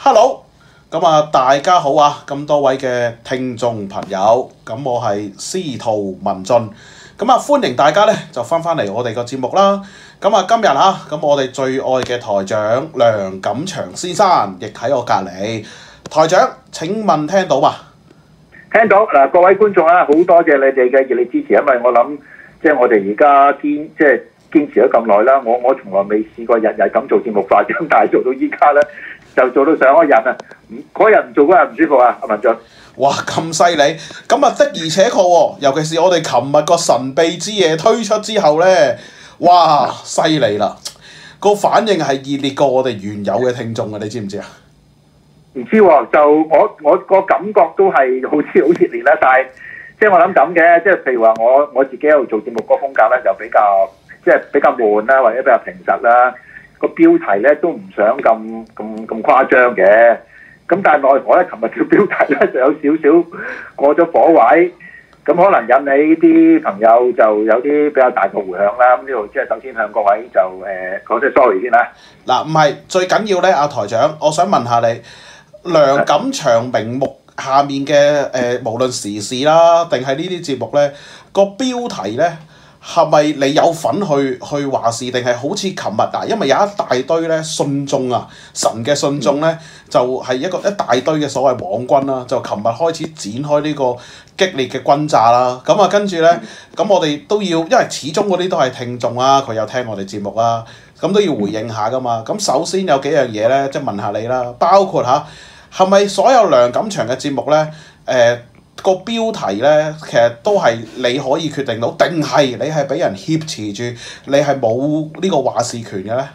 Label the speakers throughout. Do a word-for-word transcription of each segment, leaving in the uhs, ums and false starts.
Speaker 1: Hello，咁啊大家好啊，咁多位嘅聽眾朋友，咁我係司徒文進，咁啊歡迎大家咧就翻返嚟我哋個節目啦。咁啊今日啊，咁我哋最愛嘅台長梁錦祥先生亦喺我隔離。台長請問聽到嘛？
Speaker 2: 聽到嗱，各位觀眾啊，好多謝你哋嘅熱烈支持，因為我諗即係我哋而家堅即係堅持咗咁耐啦，我我從來未試過日日咁做節目化妝，但係做到依家咧就做到上一日啊！嗰日唔做嗰日唔舒服啊，阿文進。
Speaker 1: 哇，咁犀利！咁啊的而且確喎，尤其是我哋琴日個神秘之夜推出之後咧，哇，犀利啦！個反應係熱烈過我哋原有嘅聽眾啊，你知唔知啊？
Speaker 2: 唔知喎，就我我個感覺都係好似好熱烈啦，但係即係我諗咁嘅，即係譬如話我我自己喺度做節目個風格咧，就比較即係比較悶啦，或者比較平實啦。個標題咧都唔想咁咁咁誇張嘅，咁但係奈何咧，琴日條標題咧就有少少過咗火位，咁可能引起啲朋友就有啲比較大嘅迴響啦。咁呢度即係首先向各位就誒講聲 sorry 先啦。
Speaker 1: 嗱，唔係最緊要咧，阿台長，我想問下你。梁錦祥名目下面嘅誒、呃，無論時事啦，定係呢啲節目咧，個標題咧係咪你有份去去話事，定係好似琴日嗱？因為有一大堆咧信眾啊，神嘅信眾咧，就係、是、一個一大堆嘅所謂網軍啦，就琴日開始展開呢個激烈嘅轟炸啦。咁啊，跟住咧，咁我哋都要，因為始終嗰啲都係聽眾啊，佢有聽我哋節目啦，咁都要回應下噶嘛。咁首先有幾樣嘢咧，即係問下你啦，包括嚇。係咪所有梁錦祥嘅節目咧？誒、呃、個標題咧，其實都係你可以決定到，定係你係俾人挾持住，你係冇呢個話事權嘅咧？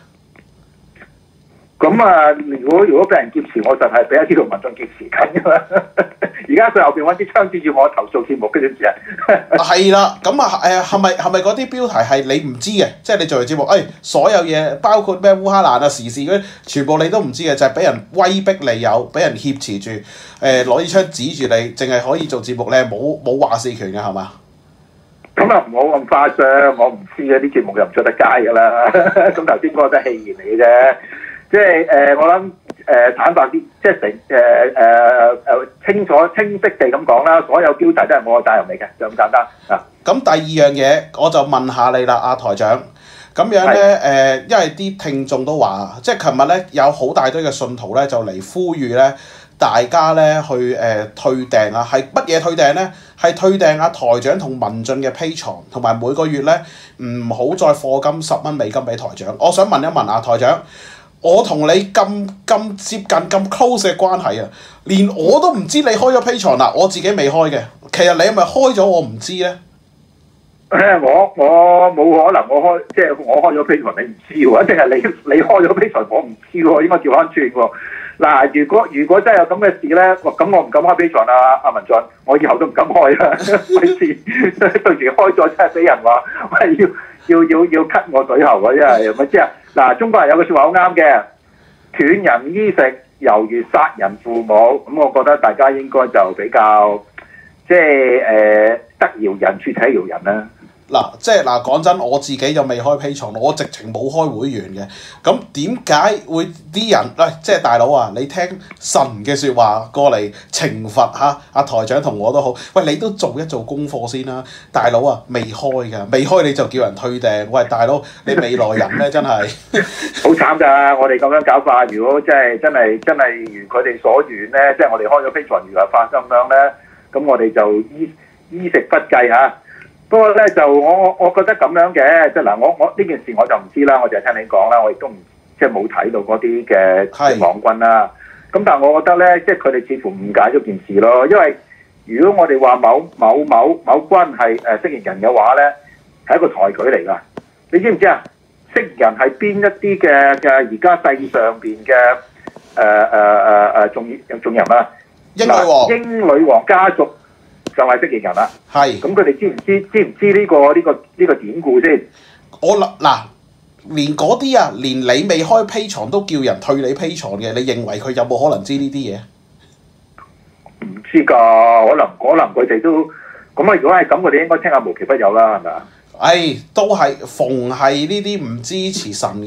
Speaker 2: 咁啊，如果如果俾人劫持，我就係俾一啲同民眾劫持緊㗎啦。而家佢後邊揾支槍指住我投訴節目，跟住知啊。係
Speaker 1: 啦，咁啊誒係咪係咪嗰啲標題係你唔知嘅？即係你做完節目，誒、哎、所有嘢包括咩烏克蘭啊時事嗰啲，全部你都唔知嘅，就係、是、俾人威逼利誘，俾人挾持住，誒攞支槍指住你，淨係可以做節目咧，冇冇話事權嘅係嘛？
Speaker 2: 咁啊唔好咁誇張，我唔知啊，啲節目又唔出得街㗎啦。咁頭先嗰個都係戲言嚟嘅啫。即係誒、呃，我諗誒、呃、坦白啲，即係成誒誒誒清楚清晰地咁講啦，所有標題都係我嘅責任嚟嘅，就咁簡單啊。咁
Speaker 1: 第二樣嘢，我就問下你啦，阿台長。咁樣咧誒、呃，因為啲聽眾都話，即係琴日咧有好大堆嘅信徒咧就嚟呼籲咧，大家咧去誒、呃、退訂啊，係乜嘢退訂咧？係退訂阿台長同文進嘅 Patreon，同埋每個月咧唔好再課金十蚊美金俾台長。我想問一問阿台長。我同你咁咁接近咁 close 嘅關係啊，連我都唔知你開咗 Patreon啦，我自己未開嘅。其實你係咪開咗我唔知咧？
Speaker 2: 誒，我我冇可能我開，即係我開咗 Patreon 你唔知喎，一定係你你開咗 Patreon我唔知喎，應該調翻轉喎。嗱，如果如果真係有咁嘅事咧，咁我唔敢開 Patreon啊，阿文進，我以後都唔敢開啦。費事到時開咗真係俾人話，喂要要要要 cut 我水喉啊！真係咪知啊？嗱，中國人有句説話好啱嘅，斷人衣食猶如殺人父母。咁我覺得大家應該就比較即係誒、呃、得饒人處且饒人啦。
Speaker 1: 嗱，即係嗱，講真，我自己就未開 Patreon，我直情冇開會員嘅。咁點解會啲人喂、哎，即係大佬啊，你聽神嘅説話過嚟懲罰嚇阿台長同我都好。喂，你都做一做功課先啦，大佬啊，未開㗎，未開你就叫人退訂。喂，大佬，你未來人咧真係
Speaker 2: 好慘㗎！我哋咁樣搞法，如果真係真係真係如佢哋所願咧，即係我哋開咗 Patreon 如係發咁樣咧，咁我哋就衣衣食不計嚇。不過咧就我我我覺得咁樣嘅，即係嗱我我呢件事我就唔知啦，我就係聽你講啦，我亦都唔即係冇睇到嗰啲嘅網軍啦。咁但係我覺得咧，即係佢哋似乎誤解咗件事咯。因為如果我哋話某某某某軍係誒蜥蜴人嘅話咧，係一個抬舉嚟㗎。你知唔知啊？蜥蜴人係邊一啲嘅嘅而家世上邊嘅誒誒誒誒重重人啊？
Speaker 1: 英女王，
Speaker 2: 英女王家族。就係蜥蜴人啦，係咁佢哋知唔知知唔知呢、呢個呢、呢個呢、呢個典故先？
Speaker 1: 我諗嗱，連嗰啲啊，連你未開 Patreon都叫人退你 Patreon嘅，你認為佢有冇可能知呢啲嘢？
Speaker 2: 唔知㗎，可能可能佢哋都咁啊！如果係咁，佢哋應該聽下無奇不有啦，係咪啊？
Speaker 1: 誒，都係逢係呢啲唔支持神嘅，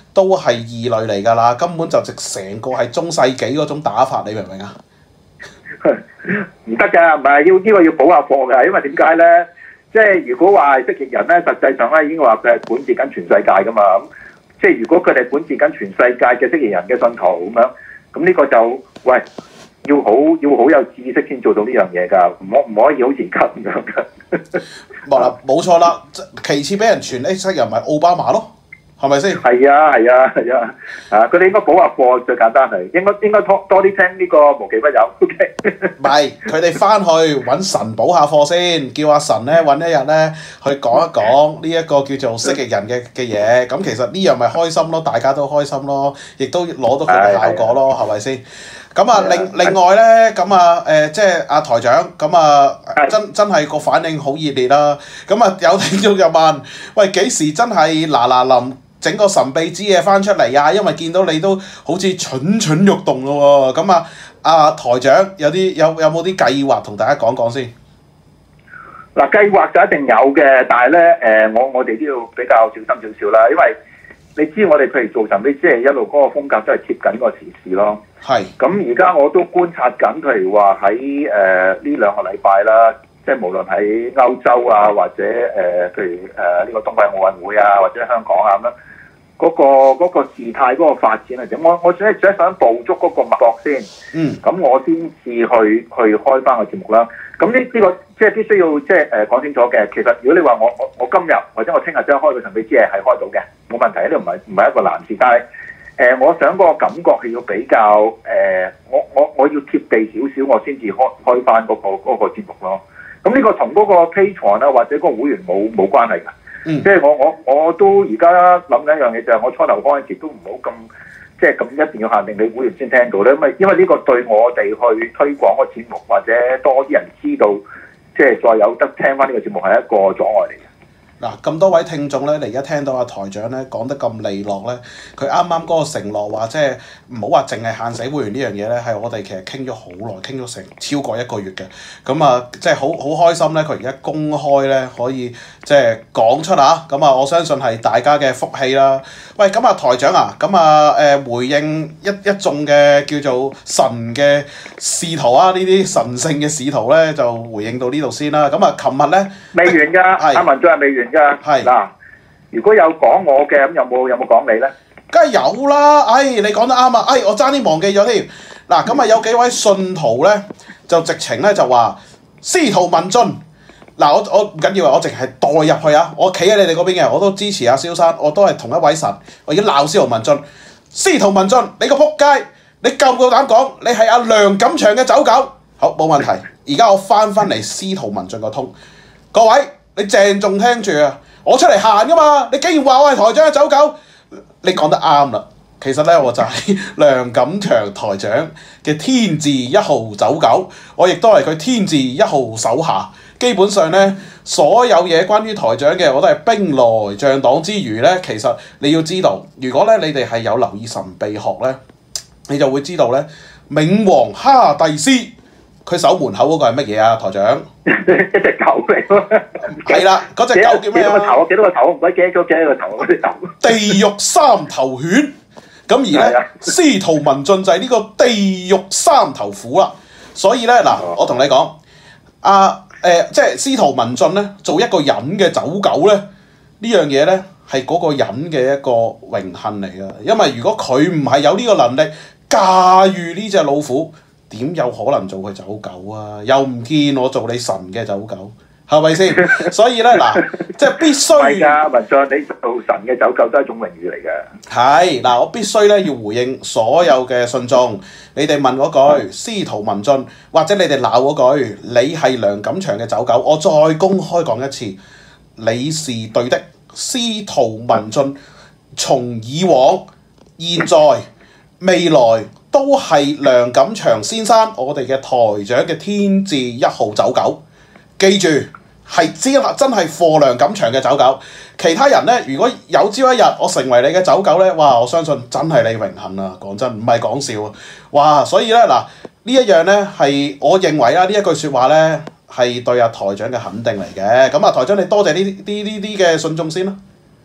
Speaker 1: 都係異類嚟㗎啦，根本就直成個係中世紀嗰種打法，你明唔明啊？
Speaker 2: 唔得㗎，唔係要呢、呢個要補下課㗎，因為點解咧？即係如果話係蜥蜴人咧，實際上咧已經話佢係管治緊全世界㗎嘛。咁即係如果佢哋管治緊全世界嘅蜥蜴人嘅信徒咁樣，咁呢個就喂要好要好有知識先做到呢樣嘢㗎，唔可唔可以好似而家咁樣㗎？
Speaker 1: 冇啦，冇錯啦。其次俾人傳呢蜥蜴人咪奧巴馬咯。係咪先？
Speaker 2: 係啊係啊係啊！啊，佢哋應該補下課最簡單係，應該應該多多啲聽呢個無奇不有。O K。
Speaker 1: 唔係，佢哋翻去揾神補下課先，叫阿神咧揾一日咧去講一講呢一個叫做蜥蜴人嘅嘅嘢。咁其實呢樣咪開心咯，大家都開心咯，亦都攞到佢嘅效果咯，係咪先？咁啊，另另外咧，咁啊誒，即係阿台長，咁啊真真係個反應好熱烈啦。咁啊有聽眾就問：喂，幾時真係嗱嗱臨整個神秘之嘢翻出嚟啊？因為見到你都好似蠢蠢欲動咯喎。咁啊，阿台長有啲有有冇啲計劃同大家講講先？
Speaker 2: 嗱，計劃就一定有嘅，但係咧誒，我我哋都要比較小心少少啦，因為你知我哋譬如做神秘之嘢一路嗰個風格都係貼緊個時事咯。係。咁而家我都觀察緊，譬如話喺誒呢兩個禮拜啦。即係無論喺歐洲啊，或者誒、呃，譬如誒呢、呃這個冬季奧運會啊，或者香港啊咁樣，嗰、那個嗰、那個事態嗰個發展係點？我我只係只係想捕捉嗰個脈搏先。嗯。咁我先至去去開翻個節目啦。咁呢呢個即係必須要即係誒講清楚嘅。其實如果你話我我我今日或者我聽日即刻開個神秘之夜係開到嘅，冇問題，呢個唔係唔係一個難事。但係誒、呃，我想嗰個感覺係要比較誒、呃，我我我要貼地少少，我先至開開翻嗰個嗰、那個節目咯。咁呢個同嗰個 Patreon 啊或者嗰個會員冇冇關係㗎，嗯、即係我我我都而家諗緊一樣嘢就係我初頭嗰陣時都唔好咁即係咁一定要限定你會員先聽到咧，因為因為呢個對我哋去推廣個節目或者多啲人知道，即係再有得聽翻呢個節目係一個阻礙嚟嘅。
Speaker 1: 嗱，咁多位聽眾咧，你而家聽到阿台長咧講得咁利落咧，佢啱啱嗰個承諾話，即係唔好話淨係限死會員呢樣嘢咧，係我哋其實傾咗好耐，傾咗成超過一個月嘅。咁啊，即係好好開心咧，佢而家公開咧可以即係講出啊。咁啊，我相信係大家嘅福氣啦。喂，咁啊台長啊，咁啊誒回應一一眾嘅叫做神嘅使徒啊，呢啲神聖嘅使徒咧就回應到呢度先啦。咁啊，琴日咧
Speaker 2: 未完㗎，阿文進係未完。係嗱，如果有講我嘅，咁有冇有冇講你咧？
Speaker 1: 梗係有啦！哎，你講得啱啊！哎，我爭啲忘記咗添。嗱，咁啊有幾位信徒咧，就直情咧就話司徒文進。嗱，我我唔緊要啊，我淨係代入去啊，我企喺你哋嗰邊嘅，我都支持阿蕭生，我都係同一位神。我而家鬧司徒文進，司徒文進，你個仆街，你夠唔夠膽講你係阿梁錦祥嘅走狗？好，冇問題。而家我翻翻嚟司徒文進個通，各位。你鄭重聽住啊！我出嚟行噶嘛，你竟然話我係台長嘅走狗，你講得啱啦。其實咧，我就係梁錦祥台長嘅天字一號走狗，我亦都係佢天字一號手下。基本上咧，所有嘢關於台長嘅，我都係兵來將擋之餘咧。其實你要知道，如果咧你哋係有留意神秘學咧，你就會知道咧，冥王哈迪斯。佢守門口嗰個係乜嘢啊？台長，
Speaker 2: 一隻狗嚟喎。
Speaker 1: 係啦，嗰隻狗叫咩啊？
Speaker 2: 幾多個頭？幾多個頭？唔鬼記咗幾多個頭嗰啲頭。
Speaker 1: 地獄三頭犬。咁而咧，司徒文進就係呢個地獄三頭虎啦。所以咧，嗱，我同你講，啊誒、呃，即係司徒文進咧，做一個人嘅走狗咧，呢樣嘢咧係嗰個人嘅一個榮幸嚟㗎。因為如果佢唔係有呢個能力駕馭呢隻老虎，點有可能做佢走狗啊？又唔見我做你神嘅走狗，係咪先？所以咧嗱，即係必須。係㗎，
Speaker 2: 文進，你做神嘅走狗都係一種榮譽嚟嘅。
Speaker 1: 係嗱，我必須咧要回應所有嘅信眾，你哋問嗰句司徒文進，或者你哋鬧嗰句，你係梁錦祥嘅走狗，我再公開講一次，你是對的。司徒文進從以往、現在、未來。都係梁錦祥先生，我哋嘅台長嘅天字一號走狗，記住係真真係貨梁錦祥嘅走狗。其他人咧，如果有朝一日我成為你嘅走狗咧，哇！我相信真係你榮幸啊！講真，唔係講笑啊！哇！所以咧嗱，呢一樣咧係我認為啦，呢一句説話咧係對阿台長嘅肯定嚟嘅。咁啊，台長你多謝呢啲呢啲嘅信眾先啦。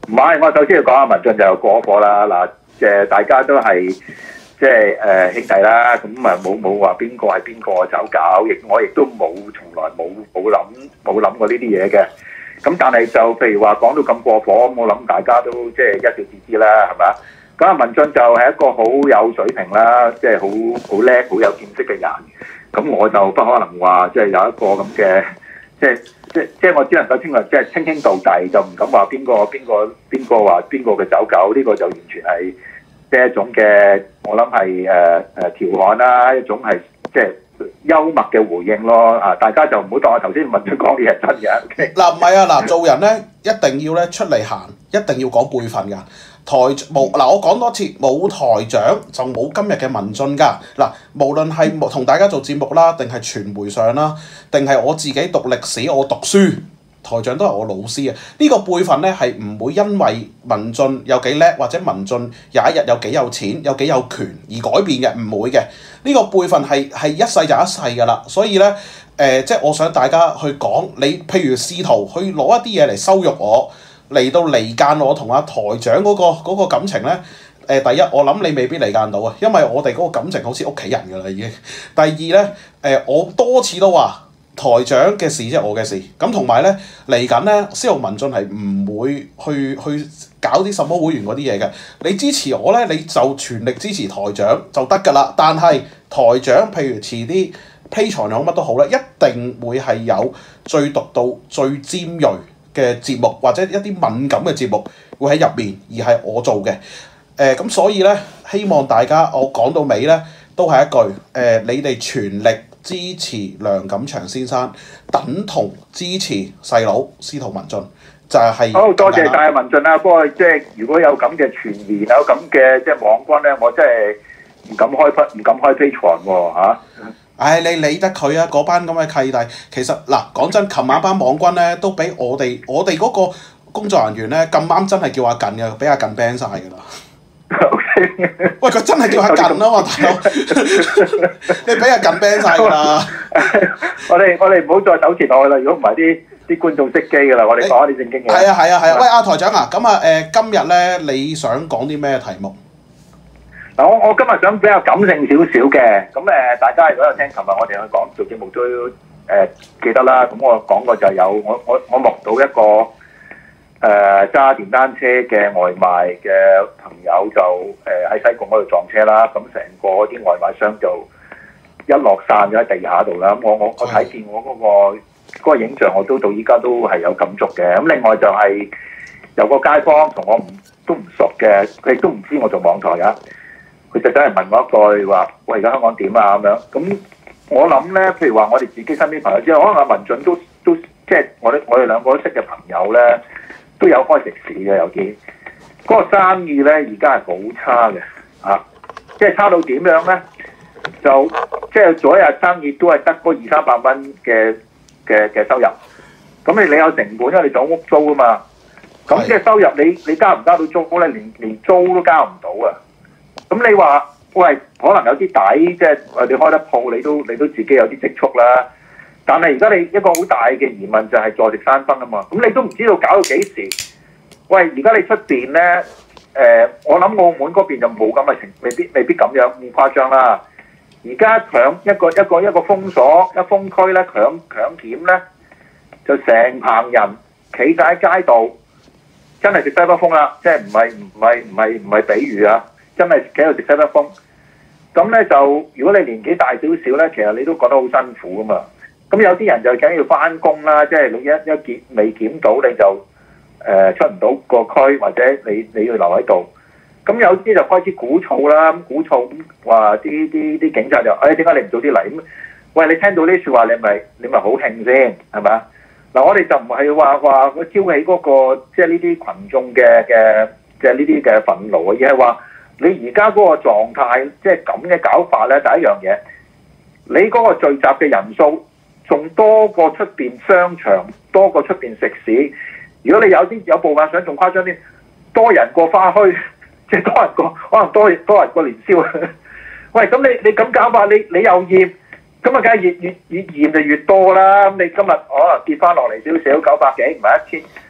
Speaker 2: 唔係，我首先要講下文進就過火啦。嗱，誒大家都係即係誒兄弟啦，咁啊冇冇話邊個係邊個走搞，亦我亦都冇從來冇冇諗冇諗過呢啲嘢嘅。咁但係就譬如話講到咁過火，我諗大家都即係一笑置之啦，係咪？咁啊文進就係一個好有水平啦，即係好好叻、好有見識嘅人。咁我就不可能話即係有一個咁嘅即係。即即我只能夠稱為即係稱兄道弟，就唔敢話邊個邊個邊個話邊個嘅走狗，呢、這個就完全係即係一種嘅，我諗係誒誒調侃啦，一種係即係幽默嘅回應咯。啊，大家就唔好當我頭先文進講嘅係真嘅。
Speaker 1: 嗱唔係啊，嗱做人咧一定要咧出嚟行，一定要講輩分㗎。台冇嗱，我講多次，冇台長就冇今日嘅文進㗎。嗱，無論係同大家做節目啦，定係傳媒上啦，定係我自己讀歷史，我讀書，台長都係我老師啊。呢、這個輩分咧係唔會因為文進有幾叻，或者文進有一日有幾有錢、有幾有權而改變嘅，唔會嘅。呢、這個輩分係係一世就一世㗎啦。所以咧，誒、呃、即係我想大家去講，你譬如試圖去攞一啲嘢嚟羞辱我。嚟到離間我同阿台長嗰、嗰個嗰個感情咧，誒、呃、第一我諗你未必離間到啊，因為我哋嗰個感情好似屋企人㗎啦已經。第二咧，誒、呃、我多次都話台長嘅事即係我嘅事，咁同埋咧嚟緊咧，司徒文進係唔會去去搞啲什麼會員嗰啲嘢嘅。你支持我咧，你就全力支持台長就得㗎啦。但係台長譬如遲啲 Patreon 好乜都好咧，一定會係有最獨到最尖鋭嘅節目或者一啲敏感嘅節目會喺入面，而係我做嘅。誒、呃、咁所以咧，希望大家我講到尾咧，都係一句誒、呃，你哋全力支持梁錦祥先生，等同支持細佬司徒文進，就係、是、
Speaker 2: 好多謝晒文進啦。不過即係如果有咁嘅傳言，有咁嘅即係網軍咧，我真係唔敢開唔敢開 Patreon 喎嚇。
Speaker 1: 唉、哎，你理得佢啊！嗰班咁嘅契弟，其實嗱講真，琴晚班網軍咧都俾我哋我哋嗰個工作人員咧咁啱真係叫阿近嘅，俾阿近 ban 晒㗎啦。喂，佢真係叫阿近啊嘛，大佬，你俾阿近 ban 晒㗎啦。
Speaker 2: 我哋我哋唔好再糾纏落去啦，如果唔係啲啲觀眾熄機㗎啦，我哋講下啲正經嘢。
Speaker 1: 係啊係啊係啊！喂，阿台長啊，咁啊誒，今日咧你想講啲咩題目？
Speaker 2: 嗱，我我今日想比較感性少少嘅，咁誒大家如果有聽琴日我哋去講做節目都誒、呃、記得啦。咁我講過就有我我我目睹一個誒揸、呃、電單車嘅外賣嘅朋友就誒喺、呃、西貢嗰度撞車啦，咁成個啲外賣箱就一落散咗喺地下度啦。咁我我我睇見我嗰、嗰個嗰個影像，我都到依家都係有感觸嘅。咁另外就係有個街坊同我唔都唔熟嘅，佢亦都唔知我做網台啊。佢就真係問我一句話：喂，而家香港點啊？咁樣咁我諗咧，譬如話我哋自己身邊朋友之後，可能阿文進都都即係我哋我哋兩個都識嘅朋友咧，都有開食肆嘅有啲。嗰、那個生意咧而家係好差嘅嚇、啊，即係差到點樣咧？就即係做一日生意都係得嗰二三百蚊嘅嘅嘅收入。咁你你有成本，因為你做屋租啊嘛。咁即係收入你你交唔交到租咧？連連租都交唔到啊！咁你話喂，可能有啲底，即係你開得鋪，你都你都自己有啲積蓄啦。但係而家你一個好大嘅疑問就係坐食山崩啊嘛。咁你都唔知道搞到幾時？喂，而家你出邊咧？誒、呃，我諗澳門嗰邊就冇咁嘅情，未必未必咁樣咁誇張啦。而家強一個一個一個封鎖一封區咧，強強檢咧，就成棚人企晒喺街道，真係食西北風啦！即係唔係唔係唔係唔係比喻啊！真係企喺度食西北風，咁咧就如果你年紀大少少咧，其實你都覺得好辛苦噶嘛。咁有啲人就梗要翻工啦，即係你一一檢未檢到你就誒、呃、出唔到個區，或者你你要留喺度。咁有啲就開始鼓噪啦，咁鼓噪咁話啲啲啲警察就誒點解你唔早啲嚟？咁喂，你聽到呢説話，你咪你咪好興先係咪？嗱，我哋就唔係話話我挑起嗰、那個即係呢啲群眾嘅嘅即係呢啲嘅憤怒啊，而係話。你而家嗰個狀態，即係咁嘅搞法咧，第一樣嘢，你嗰個聚集嘅人數仲多過出邊商場，多過出邊食肆。如果你有啲有部分想仲誇張啲，多人過花墟，即係多人過，可能多多人過年宵。喂，咁你你咁搞法，你你又驗，咁啊，梗係越越越驗就越多啦。咁你今日可能跌翻落嚟少少九百幾，唔係一千。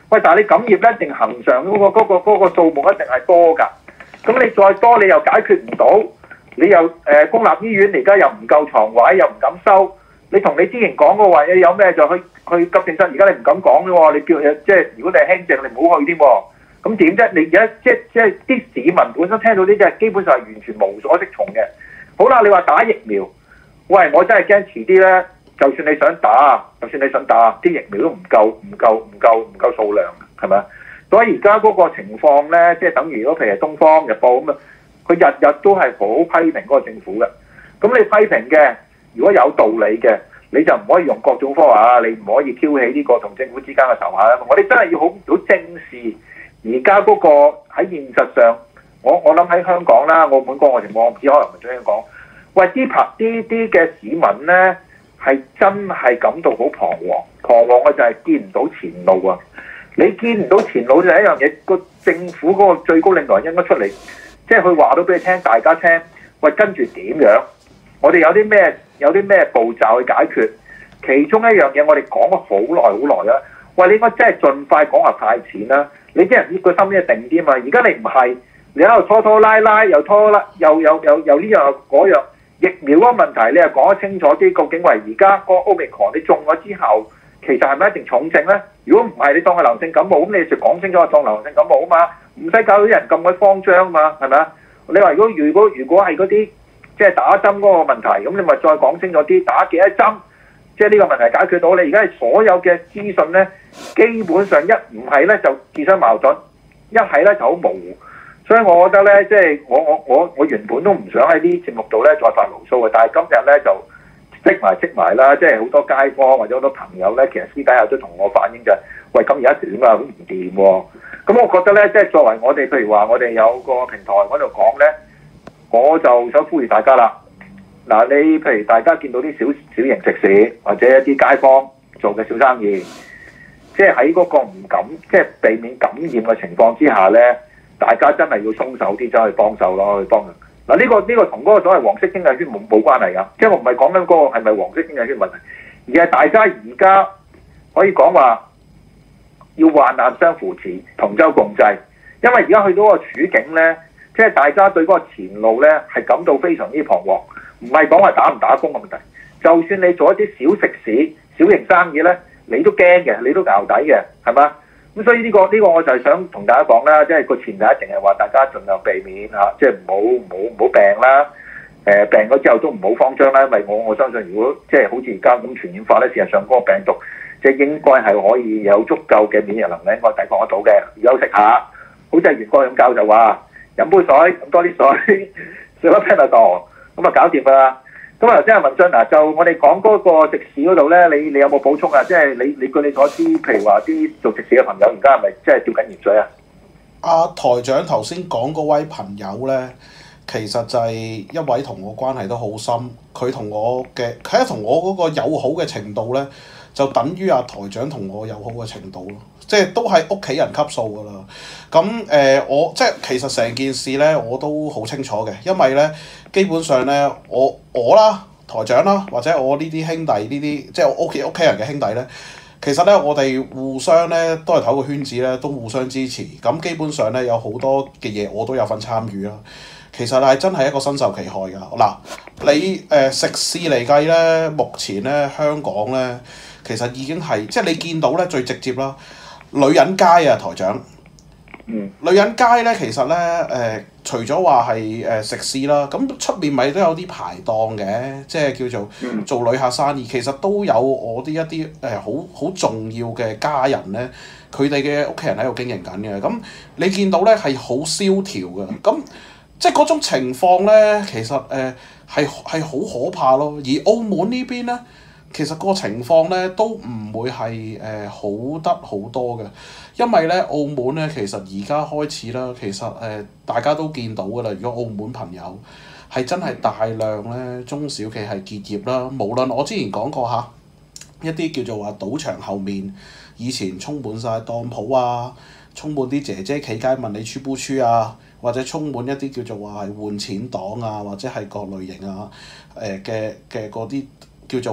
Speaker 2: 喂，但係你感染一定恒常嗰、嗰個嗰、嗰個嗰、嗰個數目一定係多㗎。咁你再多你又解決唔到，你又誒、呃、公立醫院而家又唔夠床位，又唔敢收。你同你之前講嗰話，你有咩就去去急症室，而家你唔敢講嘅喎。你叫即係如果你係輕症，你唔好去添喎。咁點啫？你而家即即係啲市民本身聽到呢啲係基本上係完全無所適從嘅。好啦，你話打疫苗，喂，我真係驚遲啲咧。就算你想打，就算你想打，啲疫苗都唔夠，唔夠，唔夠，唔夠數量，係咪？所以而家嗰個情況咧，即係等於如果譬如《東方日報》咁啊，佢日日都係好批評嗰個政府嘅。咁你批評嘅，如果有道理嘅，你就唔可以用各種方法，你唔可以挑起呢個同政府之間嘅仇恨。我哋真係要好好正視而家嗰個喺現實上，我我諗喺香港啦、澳門嗰個情況，我唔知可能唔係咁樣講。喂，啲拍啲啲嘅市民咧。係真係感到好彷徨，彷徨嘅就係見唔到前路啊！你見唔到前路就係一樣嘢，個政府嗰個最高領導人應該出嚟，即係佢話到俾你聽，大家聽，喂，跟住點樣？我哋有啲咩有啲咩步驟去解決？其中一樣嘢我哋講咗好耐好耐啦。喂，你應該真係盡快講下派錢啦！你啲人個心一定啲嘛？而家你唔係，你喺度拖拖拉拉，又拖拉，又又又又呢樣又嗰樣。疫苗嗰個問題，你又講得清楚啲，究竟為而家個 Omicron 你中咗之後，其實係咪一定重症咧？如果唔係，你當係流性感冒，咁你就講清楚當流性感冒啊嘛，唔使搞到啲人咁鬼慌張啊嘛，係咪啊？你話如果如果如果係嗰啲即係打針嗰個問題，咁你咪再講清楚啲，打幾多針，即係呢個問題解決到。你而家係所有嘅資訊咧，基本上一唔係咧就自相矛盾，一係咧就好模糊。所以我覺得咧，即係我我我我原本都唔想喺呢啲節目度咧再發牢騷嘅，但係今日咧就積埋積埋啦，即係好多街坊或者好多朋友咧，其實私底下都同我反映就係、是，喂，咁而家點啊？咁唔掂喎。咁我覺得咧，即係作為我哋，譬如話我哋有個平台喺度講咧，我就想呼籲大家啦。嗱，你譬如大家見到啲小小型食肆或者一啲街坊做嘅小生意，即係喺嗰個唔敢即係避免感染嘅情況之下咧。大家真係要鬆手啲，走去幫手咯，去幫人。嗱、這、呢個呢、這個同嗰個所謂黃色經濟圈冇冇關係㗎，即係我唔係講緊嗰個係咪黃色經濟圈問題，而係大家而家可以講話要患難相扶持，同舟共濟。因為而家去到個處境咧，即係大家對嗰個前路咧係感到非常之彷徨，唔係講話打唔打工嘅問題。就算你做一啲小食肆、小型生意咧，你都驚嘅，你都淆底嘅，係嘛？咁所以呢、這個呢、這個我就係想同大家講啦，即係個前提一定係話大家盡量避免嚇、啊，即係唔好唔好唔好病啦。誒、呃、病咗之後都唔好慌張啦，因為我我相信如果即係好似而家咁傳染法咧，事實上嗰個病毒即係應該係可以有足夠嘅免疫能力，應該抵抗得到嘅。休息下，好似係袁國勇教授話飲杯水，飲多啲水，食粒 Panadol，咁啊搞掂㗎啦。咁啊，頭先阿文進嗱，就我哋講嗰個食肆嗰度咧，你你有冇補充啊？即係你你據你所知，譬如話啲做食肆嘅朋友，而家係咪即係吊緊鹽水啊？
Speaker 1: 阿台長頭先講嗰位朋友咧，其實就係一位同我關係都好深，佢同我嘅佢係同我嗰個友好嘅程度咧，就等於阿台長同我友好嘅程度咯，即係都係屋企人級數㗎啦。咁誒、呃，我即係其實成件事咧，我都好清楚嘅，因為咧。基本上咧，我我啦，台長啦，或者我呢啲兄弟呢啲，即係我屋企屋企人嘅兄弟咧，其實咧我哋互相咧都係同一個圈子咧，都互相支持。咁基本上咧有好多嘅嘢我都有份參與啦。其實係真係一個身受其害㗎。嗱，你誒、呃、食肆嚟計咧，目前咧香港咧，其實已經係即係你見到咧最直接啦，女人街啊，台長。
Speaker 2: 嗯、
Speaker 1: 女人街咧，其實咧，誒、呃，除咗話係誒食肆啦，咁出面咪都有啲排檔嘅，即係叫做做旅客生意。其實都有我啲一啲誒好好重要嘅家人咧，佢哋嘅屋企人喺度經營緊嘅。咁你見到咧係好蕭條嘅，咁即係嗰種情況咧，其實誒係係好可怕咯。而澳門呢邊咧，其實個情況咧都唔會係誒、呃、好得好多嘅。因為咧，澳門咧，其實而家開始啦，其實誒、呃、大家都見到㗎啦。如果澳門朋友係真係大量咧中小企係結業啦，無論我之前講過嚇一啲叫做話賭場後面以前充滿晒當鋪啊，充滿啲姐姐企街問你出不出啊，或者充滿一啲叫做話係換錢黨啊，或者係各類型啊誒嘅嘅嗰啲叫做話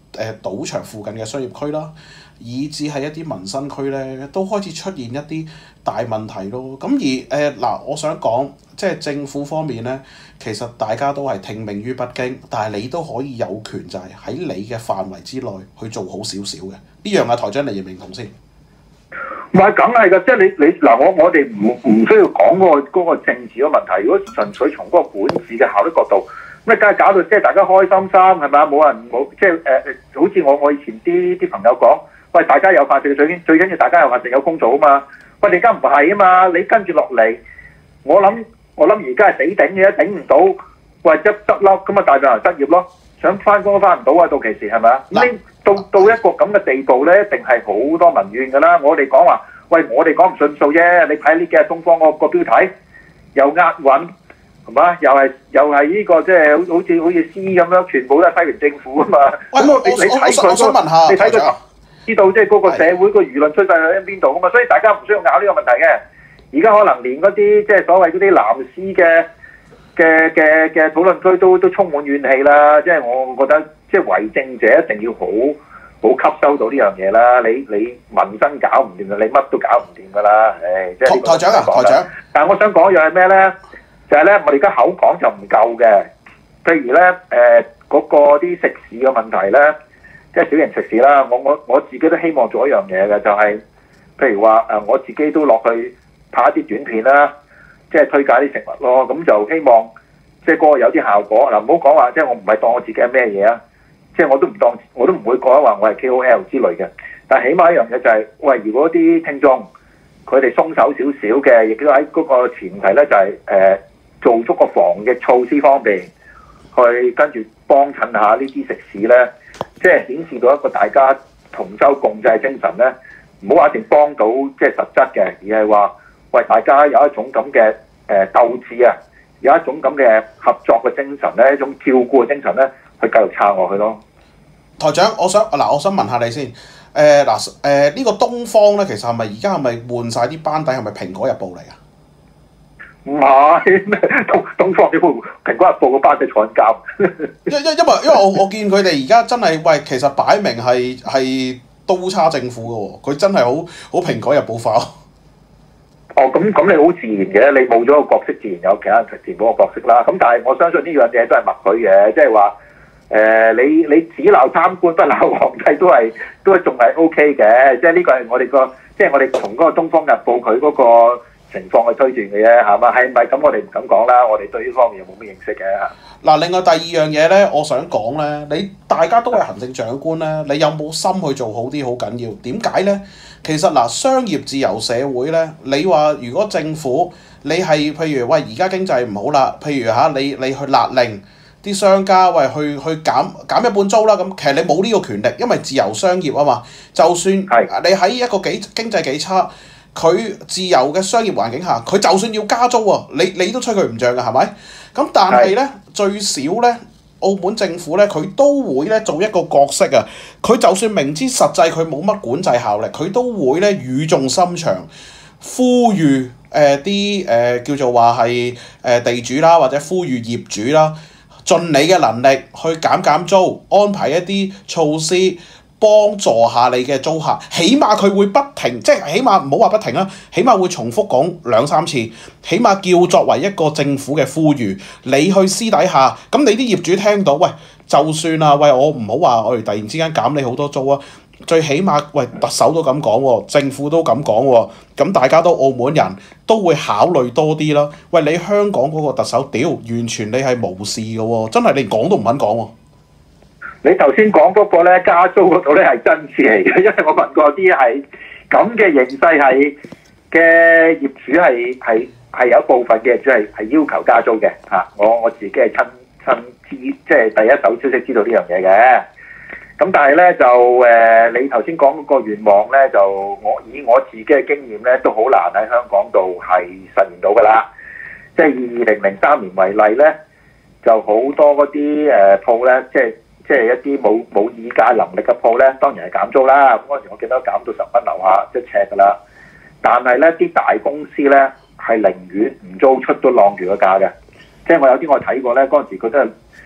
Speaker 1: 誒賭場附近嘅商業區啦，以至係一啲民生區咧，都開始出現一啲大問題咯。咁而誒嗱、呃，我想講即係政府方面咧，其實大家都係聽命於北京，但係你都可以有權就係喺你嘅範圍之內去做好少少嘅。呢樣啊，台長你認唔認同先？
Speaker 2: 唔係，梗係㗎，即係你你嗱，我我哋唔唔需要講嗰個嗰個政治嘅問題。如果純粹從嗰個管治嘅效率角度，咁你梗係搞到即係大家開心心係咪啊？冇人冇即係誒誒，好似我我以前啲啲朋友講，喂，大家有飯食最緊最緊要大家有飯食有工做啊嘛。喂，你而家唔係啊嘛，你跟住落嚟，我諗我諗而家係死頂嘅，頂唔到，喂，執執笠咁啊，大量人失業咯，想翻工都翻唔到啊，到期時係咪啊？咁到到一個咁嘅地步咧，一定係好多民怨㗎啦。我哋講話，喂，我哋講唔順數啫。你睇呢幾日東方個個標題又押韻，係嘛？又係又係呢個即係好好似好似詩咁樣，全部都係西聯政府啊嘛。咁我你你睇佢嗰個，你睇佢知道即係嗰個社會個輿論趨勢喺邊度啊嘛。所以大家唔需要拗呢個問題嘅。而家可能連嗰啲即係所謂嗰啲藍絲嘅嘅嘅嘅討論區都都充滿怨氣啦。即係我覺得。即係為政者一定要好好吸收到呢樣嘢啦！你你民生搞唔掂嘅，你乜都搞唔掂㗎啦！誒，即係
Speaker 1: 台長啊，台長。
Speaker 2: 但係我想講一樣係咩咧？就係、是、咧，我哋而家口講就唔夠嘅。譬如咧，誒、呃、嗰、那個啲食肆嘅問題咧，即係小型食肆啦。我我我自己都希望做一樣嘢嘅，就係、是、譬如話誒，我自己都落去拍一啲短片啦，即係推介啲食物咯。咁就希望即係嗰個有啲效果。嗱，唔好講話，即係我唔係當我自己係咩嘢啊！即係我都唔當，我都唔會講話我係 K O L 之類嘅。但係起碼一樣嘢就係、是，喂，如果啲聽眾佢哋鬆手少少嘅，亦都喺嗰個前提咧，就係、是、誒、呃、做足個防疫措施方面，去跟住幫襯下呢啲食肆咧，即係顯示到一個大家同舟共濟精神咧。唔好話一定幫到即係實質嘅，而係話喂，大家有一種咁嘅誒鬥志啊，有一種咁嘅合作嘅精神咧，一種照顧嘅精神咧。去繼續撐落去咯。
Speaker 1: 台長，我想嗱，我想問下你先。誒嗱誒呢個東方咧，其實係咪而家係咪換晒啲班底？係咪蘋果日報嚟啊？
Speaker 2: 唔係，東東方點會蘋果日報個班底坐緊監？
Speaker 1: 因因因為因為我我見佢哋而家真係喂，其實擺明係係刀叉政府嘅喎，佢真係好好蘋果日報化。
Speaker 2: 哦，咁咁你好自然嘅，你冇咗個角色，自然有其他人填補個角色啦。咁但係我相信呢樣嘢都係默許嘅，即係話。誒、呃，你你只鬧貪官不鬧皇帝都係都係仲係 O K 嘅，即係呢個係我哋個，即係我哋從嗰個《東方日報》佢嗰個情況去推斷嘅啫，係嘛？係咪咁？我哋唔敢講啦，我哋對呢方面又冇乜認識嘅嚇。嗱，
Speaker 1: 另外第二樣嘢咧，我想講咧，你大家都係行政長官咧，你有冇心去做好啲好緊要？點解咧？其實嗱，商業自由社會咧，你話如果政府你係譬如喂而家經濟唔好啦，譬如嚇你你去勒令。啲商家喂去去減減一半租啦，咁其實你冇呢個權力，因為自由商業啊嘛。就算你喺一個幾經濟幾差，佢自由嘅商業環境下，佢就算要加租喎，你你都吹佢唔漲㗎，係咪？咁但係咧最少咧，澳門政府咧佢都會咧做一個角色啊。佢就算明知實際佢冇乜管制效力，佢都會咧語重心長呼籲誒啲誒叫做話係誒地主啦，或者呼籲業主啦。盡你嘅能力去減減租，安排一啲措施幫助下你嘅租客，起碼佢會不停，即係起碼唔好話不停啦，起碼會重複講兩三次，起碼叫作為一個政府嘅呼籲，你去私底下，咁你啲業主聽到，喂，就算啊，喂，我唔好話我哋突然之間減你好多租啊。最起碼，喂，特首都咁講喎，政府都咁講喎，咁大家都澳門人都會考慮多啲啦。喂，你香港嗰個特首屌，完全你係無視嘅喎，真係你講都唔肯講喎。
Speaker 2: 你頭先講嗰個咧加租嗰度咧係真事嚟嘅，因為我問過啲係咁嘅形勢係嘅業主係係係有一部分嘅業主係係要求加租嘅嚇，我我自己係親親知，即係第一手消息知道呢樣嘢嘅。咁但係咧就誒、呃，你頭先講嗰個願望咧，就我以我自己嘅經驗咧，都好難喺香港度係實現到㗎啦。即係以二零零三年為例咧，就好多嗰啲誒鋪咧，即係即係一啲冇冇議價能力嘅鋪咧，當然係減租啦。咁嗰陣時我記得減到十蚊樓下一尺㗎啦。但係咧啲大公司咧係寧願唔租出都晾住個價嘅。即係我有啲我睇過咧，嗰陣時佢都係。即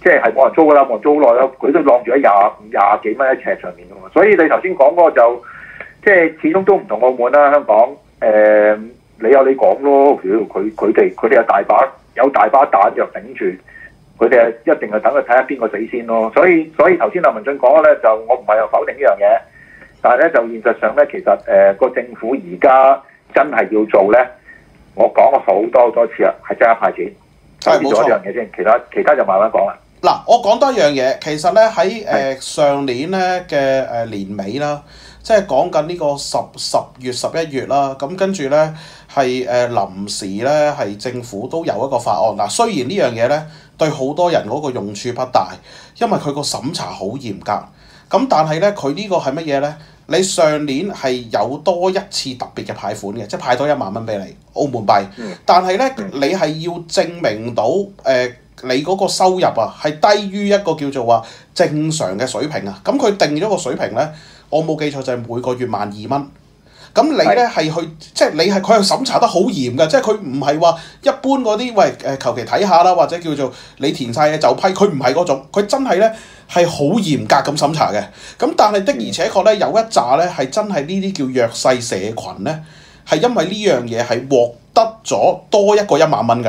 Speaker 2: 即係係冇人租㗎啦，冇人租好耐啦，佢都晾住喺廿廿幾蚊一尺上面㗎嘛。所以你頭先講嗰個就即係始終都唔同澳門啦，香港誒、呃、你有你講咯，佢佢哋佢哋有大把有大把彈藥頂住，佢哋係一定係等佢睇下邊個死先咯。所以所以頭先阿文進講咧，就我唔係又否定呢樣嘢，但係咧就現實上咧，其實誒個、呃、政府而家真係要做咧，我講過好多好多次啦，係真係派錢。
Speaker 1: 係冇錯。
Speaker 2: 呢樣嘢先，其他其他就慢慢講啦。
Speaker 1: 嗱，我講多一樣嘢，其實咧喺誒上年咧嘅誒年尾啦，即係講緊呢個十十月十一月啦，咁跟住咧係誒臨時咧係政府都有一個法案。嗱，雖然呢樣嘢咧對好多人嗰個用處不大，因為佢個審查好嚴格，咁但係咧佢呢個係乜嘢咧？你上年係有多一次特別嘅派款嘅，即係派多一萬蚊俾你澳門幣，但係咧你係要證明到誒。呃你嗰個收入啊，係低於一個叫做話正常嘅水平啊。咁佢定咗個水平咧，我冇記錯就係每個月萬二蚊。咁你咧係去，即係你係佢係審查得好嚴㗎，即係佢唔係話一般嗰啲喂誒求其睇下啦，或者叫做你填晒嘢就批，佢唔係嗰種，佢真係咧係好嚴格咁審查嘅。咁但係的而且確咧有一紮咧係真係呢啲叫弱勢社群咧，係因為呢樣嘢係獲得咗多一個一萬蚊㗎。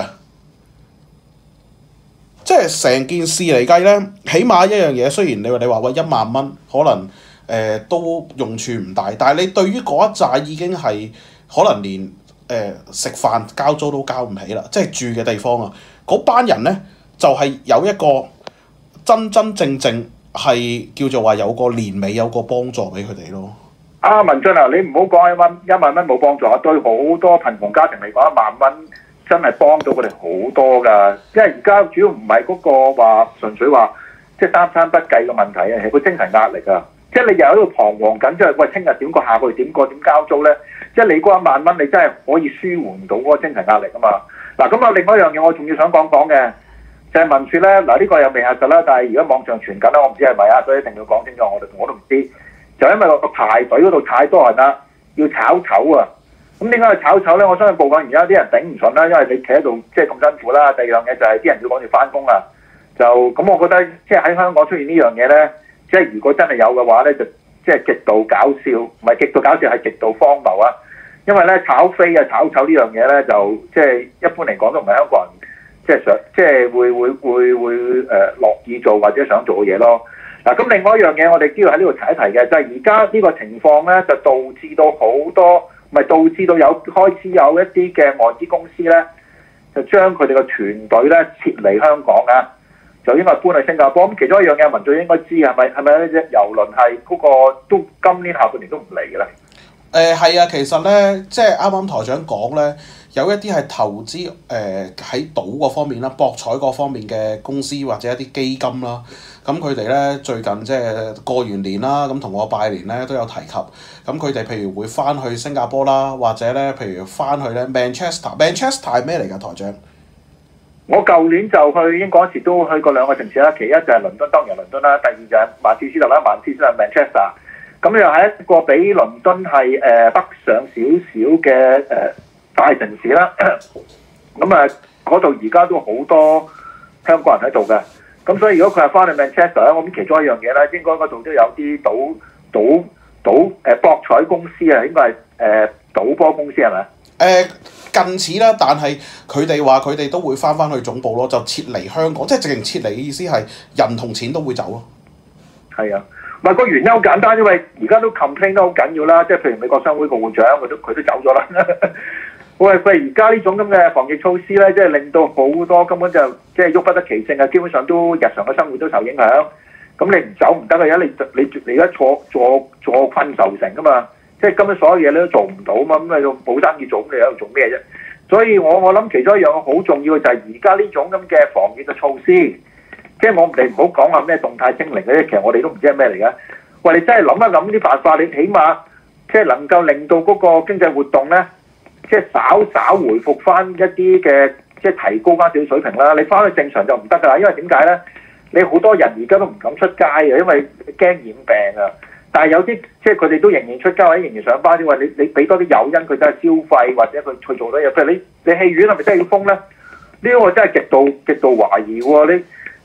Speaker 1: 即係成件事嚟計咧，起碼一樣嘢，雖然你話你話喂一萬蚊，可能誒、呃、都用處唔大，但係你對於嗰一紮已經係可能連誒、呃、食飯交租都交唔起啦，即係住嘅地方啊，嗰班人咧就係、是、有一個真真正正係叫做話有個年尾有個幫助俾佢哋咯。
Speaker 2: 啊，文進啊，你唔好講一蚊一萬蚊冇幫助啊，對好多貧窮家庭嚟講，一萬蚊真係幫到佢哋好多㗎，因為而家主要唔係嗰個話純粹話即係三餐不繼嘅問題啊，係個精神壓力啊！即係你又喺度彷徨緊，即係喂聽日點過，下個月點過，點交租咧？即係你嗰一萬蚊，你真係可以舒緩到嗰個精神壓力啊嘛！嗱，咁啊，另外一樣嘢我仲要想講講嘅就係民説咧，嗱呢個又未核實啦，但係而家網上傳緊啦，我唔知係咪啊，所以一定要講清楚，我哋我都唔知，就因為個排隊嗰度太多人啦，要炒籌啊！咁點解去炒籌咧？我相信部分而家啲人頂唔順啦，因為你企喺度即係咁辛苦啦。第二樣嘢就係啲人要趕住翻工啦。就咁，我覺得即係喺香港出現呢樣嘢咧，即係如果真係有嘅話咧，就即係極度搞笑，唔係極度搞笑係極度荒謬啊！因為咧炒飛啊、炒籌呢樣嘢咧，就即係一般嚟講都唔係香港人即係想即係會會會會誒樂意做或者想做嘅嘢咯。嗱，咁另外一樣嘢我哋都要喺呢度提一提嘅，就係而家呢個情況咧，就導致到好多。咪導致到有開始有一啲嘅外資公司咧，就將佢哋嘅團隊咧撤離香港啊，就應該搬去新加坡。咁其中一樣嘢，民眾應該知係咪係咪呢隻郵輪係嗰個都今年下半年都唔嚟嘅咧？
Speaker 1: 誒係啊，其實咧，即係啱啱台長講咧，有一啲係投資誒喺賭嗰方面啦、博彩嗰方面嘅公司或者一啲基金啦。咁佢哋咧最近即係過完年啦，咁同我拜年咧都有提及。咁佢哋譬如會翻去新加坡啦，或者咧譬如翻去咧 Manchester。Manchester 係咩嚟㗎，台長？
Speaker 2: 我舊年就去英國嗰時都去過兩個城市啦，其一就係倫敦，當然係倫敦啦；第二就係曼徹斯特啦，曼徹斯特 Manchester。咁又係一個比倫敦係誒、呃、北上少少嘅誒大城市啦。咁啊，嗰度而家都好多香港人喺度嘅。咁所以如果佢係翻去 Manchester 咧，我諗其中一樣嘢咧，應該嗰度都有啲賭賭賭誒博彩公司啊，應該係誒賭波公司係咪？誒、
Speaker 1: 呃、近似啦，但係佢哋話佢哋都會翻翻去總部咯，就撤離香港，即係直情撤離嘅意思係人同錢都會走咯。係
Speaker 2: 啊，唔係個原因好簡單，因為而家都 complain 得好緊要啦，即係譬如美國商會個會長佢都佢都走咗啦。喂，佢而家呢種咁嘅防疫措施咧，即係令到好多根本就即係喐不得其性啊！基本上都日常嘅生活都受影響。咁你唔走唔得嘅，而家你你你而家坐坐坐困愁城噶嘛，即係根本所有嘢你都做唔到嘛，咁你就冇生意做，咁你喺度做咩啫？所以我我諗其中一樣好重要嘅就係而家呢種咁嘅防疫嘅措施，即係我哋唔好講話咩動態清零嗰啲，其實我哋都唔知係咩嚟嘅。喂，你真係諗一諗啲辦法，你起碼即係能夠令到嗰個經濟活動咧。即係稍稍回復翻一啲嘅，即係提高翻少少水平啦。你翻去正常就唔得㗎啦，因為點解咧？你好多人而家都唔敢出街啊，因為驚染病啊。但係有啲即係佢哋都仍然出街或者仍然上班，因為你你俾多啲誘因佢真係消費或者佢去做多嘢。譬如你你戲院係咪真係要封咧？呢個我真係極度極度懷疑喎。你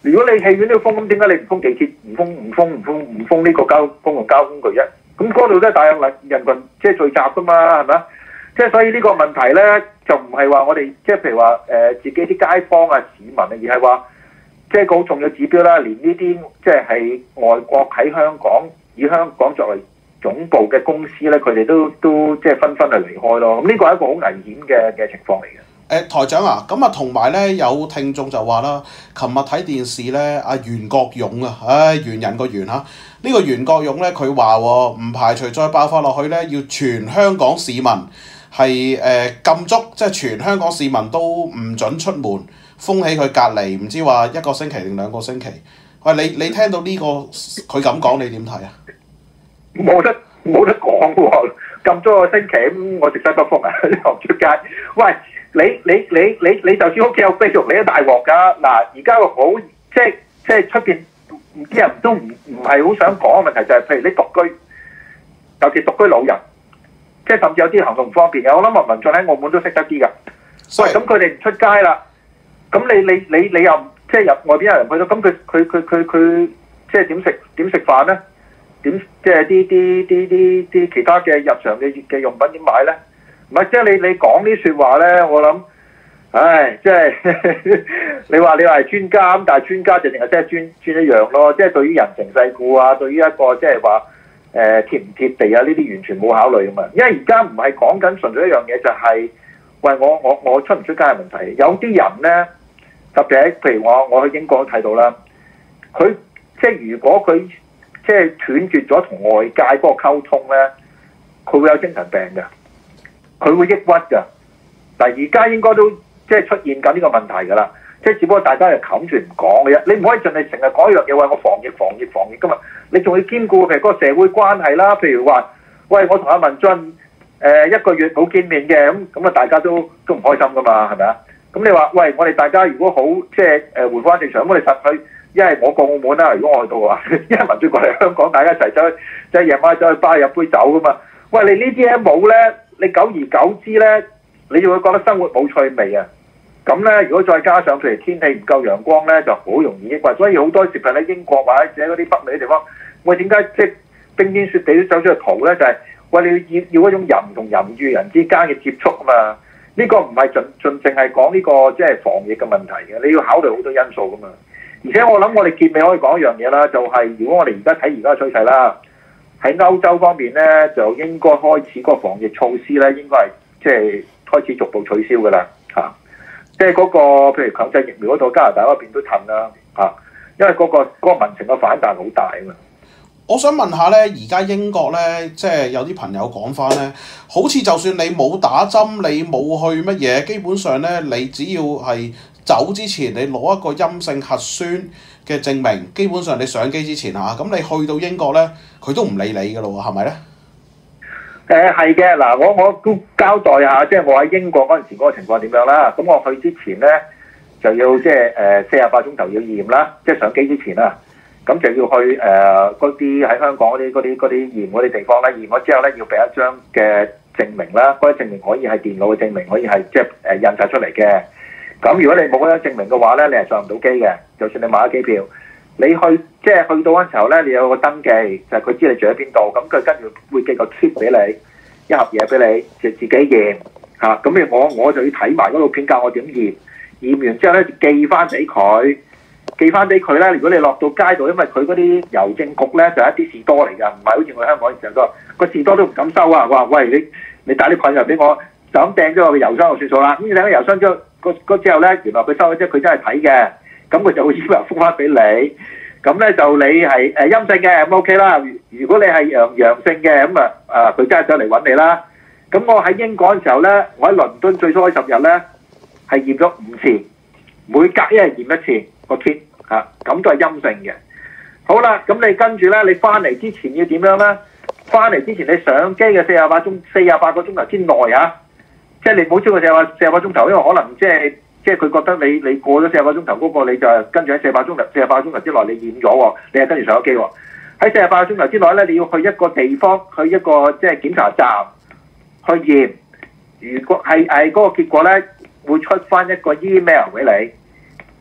Speaker 2: 如果你戲院都要封，咁點解你唔封地鐵、唔封唔封唔封唔封呢個交公共交通工具啫？咁嗰度都係大量人人群即係聚集噶嘛，係咪啊？即係所以呢個問題咧，就唔係話我哋即係譬如話誒、呃、自己啲街坊啊市民啊，而係話即係個好重要指標啦。連呢啲即係係外國喺香港以香港作為總部嘅公司咧，佢哋都都即係紛紛係離開咯。咁呢個係一個好危險嘅嘅情況嚟嘅。
Speaker 1: 誒、呃、台長啊，咁啊同埋咧有聽眾就話啦，琴日睇電視咧，阿袁國勇啊，唉袁人個袁嚇，呢、這個袁國勇咧佢話唔排除再爆發落去咧，要全香港市民係誒、呃、禁足，即係全香港市民都唔准出門，封起佢隔離，唔知話一個星期定兩個星期。喂，你你聽到呢、這個佢咁講，你點睇啊？
Speaker 2: 冇得冇得講喎，禁咗個星期咁，我食西北風啊，行出街。喂！你你你你你就算屋企有飛肉，你都大鑊㗎。嗱，而家個好即係即係出邊啲人都唔唔係好想講嘅問題就係、是，譬如你獨居，尤其獨居老人，即係甚至有啲行動唔方便嘅。我諗文文進喺澳門都識得啲㗎。喂，咁佢哋唔出街啦，咁你你你你又即係入外邊有人去到，咁佢佢佢佢佢即係點食點食飯咧？點即係啲啲啲啲啲其他嘅日常嘅嘅用品點買咧？唔係，即係你你講啲説話咧，我諗，唉，即係你話你話係專家咁，但係專家就淨係即係專專一樣咯。即係對於人情世故啊，對於一個即係話誒貼唔貼地啊，呢啲完全冇考慮㗎嘛。因為而家唔係講緊純粹一樣嘢，就係、是、喂我我我出唔出街嘅問題。有啲人咧，特別喺譬如我我去英國都睇到啦，佢即係如果佢即係斷絕咗同外界嗰個溝通咧，佢會有精神病㗎。佢會抑鬱㗎，但係而家應該都即係出現緊呢個問題㗎啦，即係只不過大家係冚住唔講嘅啫。你唔可以盡係成日講一樣嘢話我防疫防疫防疫㗎嘛，你仲要兼顧譬如嗰個社會關係啦，譬如話，喂我同阿文進誒、呃、一個月冇見面嘅，咁咁啊大家都都唔開心㗎嘛，係咪啊？咁你話喂我哋大家如果好即係誒回翻正常，咁我哋實去，因為我過澳門啦，如果我去到啊，因為文進過嚟香港，大家一齊走去即係夜晚走去巴飲杯酒㗎嘛。喂你呢啲嘢冇咧？你久而久之咧，你就會覺得生活冇趣味啊！咁咧，如果再加上譬如天氣唔夠陽光咧，就好容易抑鬱。所以好多時候喺英國或者嗰啲北美嘅地方，喂點解即係冰天雪地都走出去蒲咧？就係、是、喂你要要嗰種人同人與人之間嘅接觸啊嘛！呢、這個唔係盡盡淨係講呢個即係防疫嘅問題嘅，你要考慮好多因素噶嘛。而且我諗我哋結尾可以講一樣嘢啦，就係、是、如果我哋而家睇而家嘅趨勢啦。喺歐洲方面咧，就應該開始嗰個防疫措施咧，應該係即係開始逐步取消㗎啦，嚇、啊！即係嗰個譬如強制疫苗嗰度，加拿大嗰邊都褪啦，嚇、啊！因為嗰、嗰個嗰個民情嘅反彈好大啊嘛。
Speaker 1: 我想問下咧，而家英國咧，即係有啲朋友講翻咧，好似就算你冇打針，你冇去乜嘢，基本上咧，你只要係走之前，你攞一個陰性核酸嘅證明，基本上你上機之前嚇，咁你去到英國咧，佢都唔理你㗎咯喎，係咪咧？
Speaker 2: 誒係嘅，嗱我我都交代下，即係我喺英國嗰陣時嗰個情況點樣啦。咁我去之前咧就要即係誒四十八鐘頭要驗啦，即係上機之前啦。咁就要去誒嗰啲喺香港嗰啲嗰啲嗰啲驗嗰啲地方咧，驗咗之後咧要俾一張嘅證明啦，嗰啲證明可以係電腦嘅證明，可以係即係誒印晒出嚟嘅。咁如果你冇嗰張證明嘅話咧，你係上唔到機嘅。就算你買咗機票，你去即係去到嗰陣時候咧，你有個登記，就係、是、佢知你住喺邊度，咁佢跟住會寄個 kit 俾你，一盒嘢俾你，就自己驗嚇。咁、啊、我我就要睇埋嗰套片教我點驗，驗完之後咧就寄翻俾佢。寄翻俾佢咧，如果你落到街度，因為佢嗰啲郵政局咧就係、一啲士多嚟㗎，唔係好似我香港嘅士多，個士多都唔敢收啊！話喂你你帶啲菌入俾我，就咁掟咗落個郵箱就算數啦。咁你掟咗郵箱之後，個之後咧，原來佢收咗之後，佢真係睇嘅，咁佢就會以為覆翻俾你。咁咧就你係誒陰性嘅，咁 OK 啦。如果你係陽陽性嘅，咁啊啊佢真係上嚟揾你啦。咁我喺英國嘅時候咧，我喺倫敦最初嗰十日咧係驗咗五次，每隔一日驗一次個 kit。啊，咁都係陰性嘅。好啦，咁你跟住咧，你翻嚟之前要點樣咧？翻嚟之前你上機嘅四十八鐘、四十八個鐘頭之內啊，即係你唔好超過四十八四十八鐘頭，因為可能即係即係佢覺得你你過咗四十八鐘頭嗰個，你就跟住喺四十八鐘頭、四十八個鐘頭之內你驗咗喎，你係跟住上咗機喎。喺四十八個鐘頭之內咧，你要去一個地方，去一個即係檢查站去驗。如果係係嗰個結果咧，會出翻一個 email 俾你。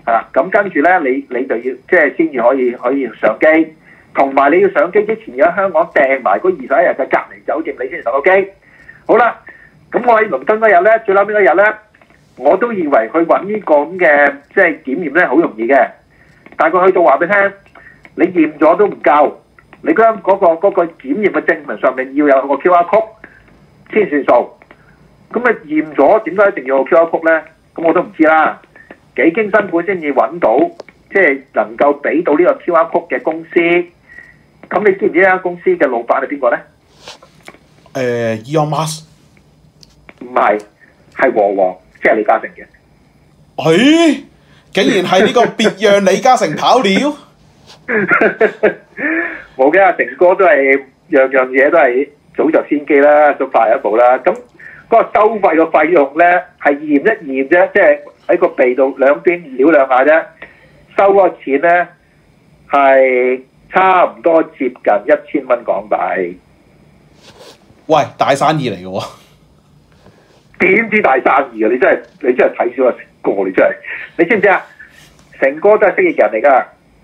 Speaker 2: 啊，咁跟住咧，你你就要即係先至可以可以上機，同埋你要上機之前要喺香港訂埋嗰二十一日嘅隔離酒店，你先上到機。好啦，咁我喺倫敦嗰日咧，最嬲尾嗰日咧，我都以為去揾呢個咁嘅即係檢驗咧好容易嘅，但係佢去到話俾你聽，你驗咗都唔夠，你嗰嗰個嗰個檢驗嘅證明上面要有個 Q R code 先算數。咁啊驗咗點解一定要有 Q R code 咧？咁我都唔知啦。幾經辛苦先至揾到，即係能夠俾到呢個 Q R code 嘅公司。咁你知唔知呢間公司嘅老闆係邊個咧？
Speaker 1: 誒 Elon Musk
Speaker 2: 唔係，係和黃，即係李嘉誠嘅。
Speaker 1: 誒，竟然係呢個別讓李嘉誠跑了？
Speaker 2: 冇嘅，阿成哥都係樣樣嘢都係早就先機啦，都快一步啦。咁嗰個收費嘅費用咧係驗一驗啫，即係喺個鼻度兩邊撩兩下啫，收嗰個錢咧係差唔多接近一千蚊港幣。
Speaker 1: 喂，大生意嚟嘅喎！
Speaker 2: 點知大生意啊！你真係你真係睇少阿成哥，你真係你知唔知啊？成哥都係蜥蜴人嚟㗎。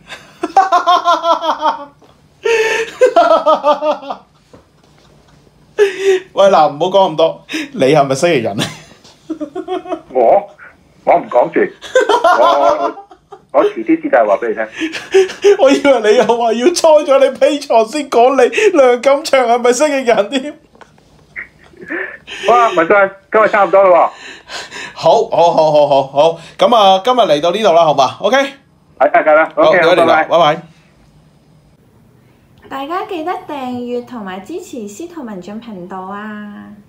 Speaker 1: 喂嗱，唔好講咁多，你係咪蜥蜴人咧？
Speaker 2: 我我唔講住，我我遲啲先係話俾你聽。
Speaker 1: 我以為你又話要猜咗你 Patreon先講你梁錦祥係咪蜥蜴人添？
Speaker 2: 好啊，文進，今日差唔多啦喎。
Speaker 1: 好，好，好，好，好，好，咁啊，今日嚟到呢度啦，好嘛 ？OK。
Speaker 2: 係得㗎啦。
Speaker 1: 好，
Speaker 2: OK，
Speaker 1: 拜拜。
Speaker 2: 拜拜。
Speaker 1: 拜拜。
Speaker 3: 大家記得訂閱同埋支持司徒文進頻道啊！